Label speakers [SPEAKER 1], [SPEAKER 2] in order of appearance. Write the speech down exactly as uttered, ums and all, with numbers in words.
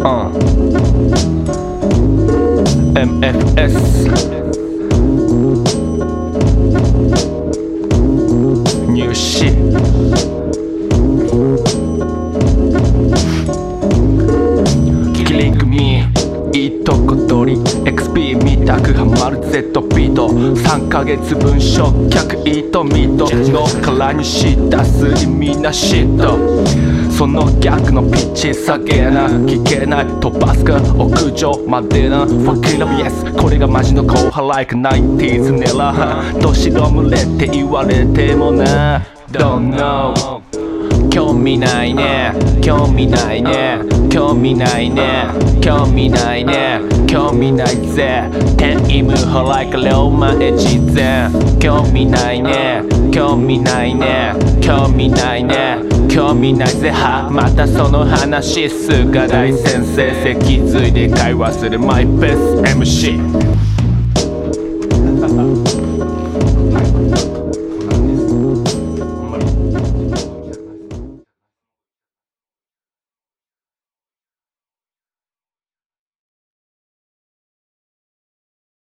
[SPEAKER 1] uh. エムエフエス 入試キリングミーいいとこ取り エックスピー みたくハマる Z ビートさんかげつぶん焼却イートミートの殻にし出す意味なしとその逆のピッチ下げな聞けない飛ばすか屋上までな Fucking love yes これがマジの後輩 like ナインティーズ ネラどしろ群れって言われてもな Don't know 興味ないね興味ないね興味ないね興味ないね興味ないぜ天意無法 like 龍馬越前興味ないね興味ないね興味ないね興味ないぜはまたその話すが大先生脊髄で会話するマイベスト エムシー